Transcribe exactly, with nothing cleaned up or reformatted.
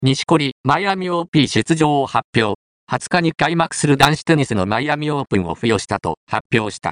錦織、マイアミ オーピー 出場を発表。はつかに開幕する男子テニスのマイアミオープンを付与したと発表した。